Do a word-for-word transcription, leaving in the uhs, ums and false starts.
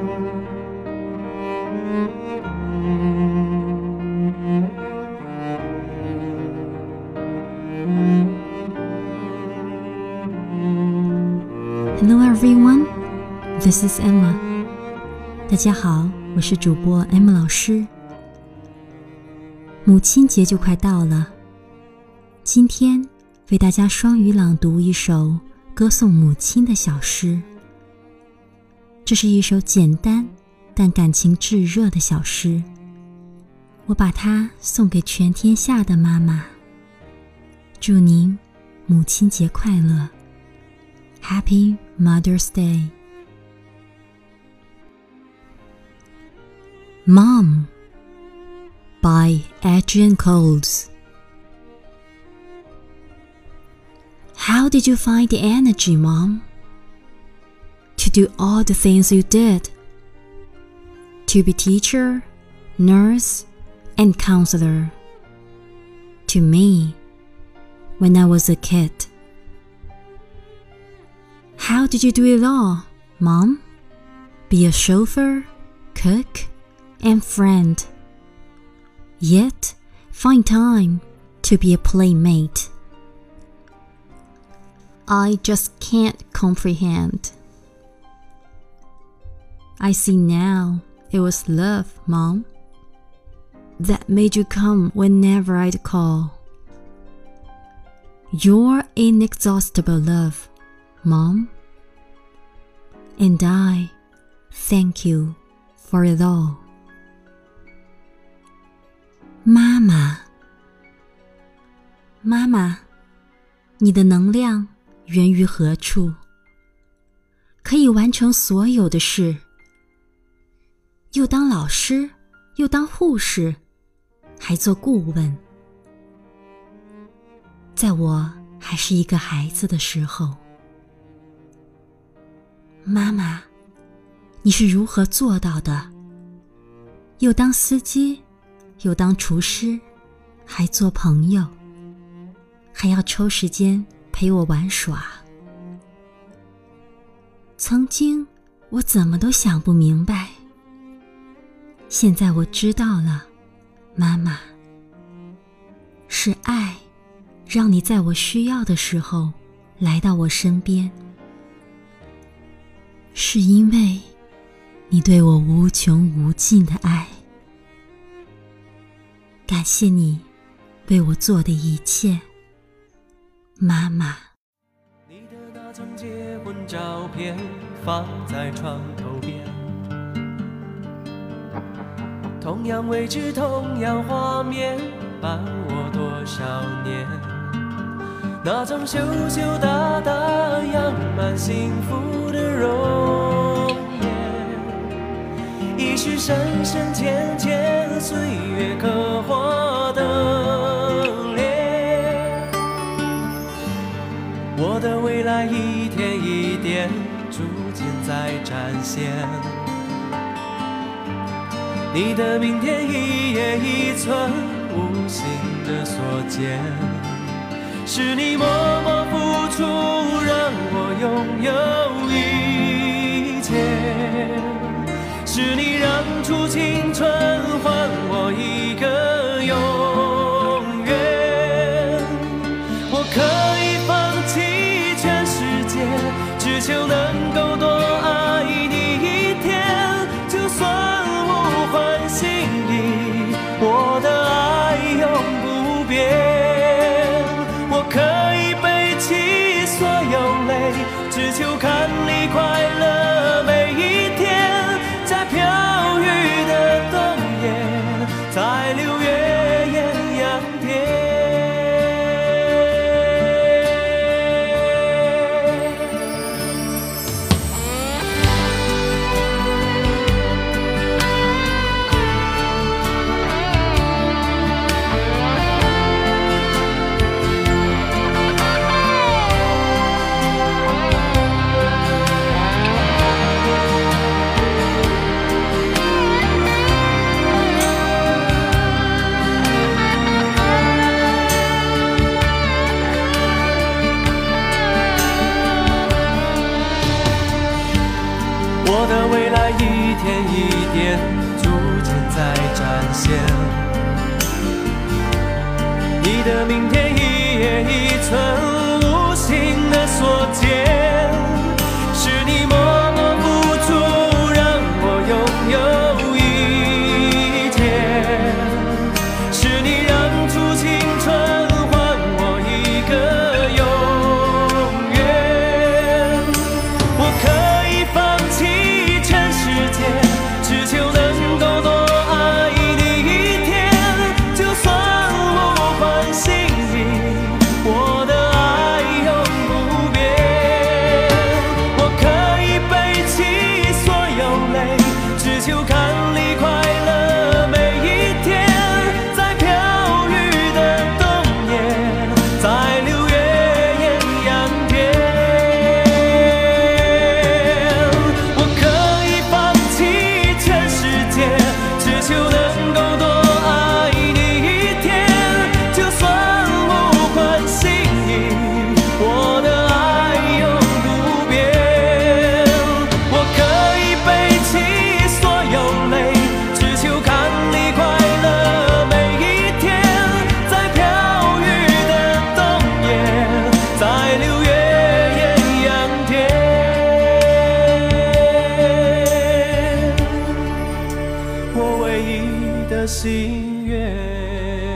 Hello everyone, this is Emma. 大家好，我是主播 Emma 老师。母亲节就快到了，今天为大家双语朗读一首歌颂母亲的小诗。这是一首简单但感情炙热的小诗，我把它送给全天下的妈妈。祝您母亲节快乐 Happy Mother's Day. Mom by Adrian Coles. How did you find the energy, Mom, to do all the things you did? To be teacher, nurse, and counselor. To me, when I was a kid. How did you do it all, Mom? Be a chauffeur, cook, and friend. Yet, find time to be a playmate. I just can't comprehend. I see now it was love, Mom, that made you come whenever I'd call. Your inexhaustible love, Mom, and I thank you for it all. 妈妈，妈妈，你的能量源于何处？可以完成所有的事，又当老师，又当护士，还做顾问。在我还是一个孩子的时候，妈妈，你是如何做到的？又当司机，又当厨师，还做朋友，还要抽时间陪我玩耍。曾经我怎么都想不明白，现在我知道了，妈妈，是爱让你在我需要的时候来到我身边，是因为你对我无穷无尽的爱。感谢你为我做的一切，妈妈。 你的那张结婚照片放在床头边，同样位置同样画面伴我多少年，那张羞羞答答样满幸福的容颜，已是深深浅浅岁月刻画的脸，我的未来一天一点逐渐在展现，你的明天一叶一寸无形的所见，是你默默付出让我拥有一切，是你让出青春换我一个永远，我可以放弃全世界，只求能够多爱你一天，就算无关心意，我的爱永不变，我可以背起所有泪，只求看你快乐每一天，在飘远现。你的明天一叶一寸无形的所见，是你默默付出让我拥有一天，是你让出青春换我一个永远。我可以放弃全世界，只求能够多爱你一天，就算无关心意，我的爱永不变。我可以背起所有泪，只求看你快乐每一天，在飘雨的冬夜，在六月艳阳天。我可以放弃全世界，只求能够多爱你一天，就算无关心意，我的爱永不变。我可以背起所有泪，只求看你快乐每一天，在飘雨的冬夜，在六月艳阳天。我唯一的心愿。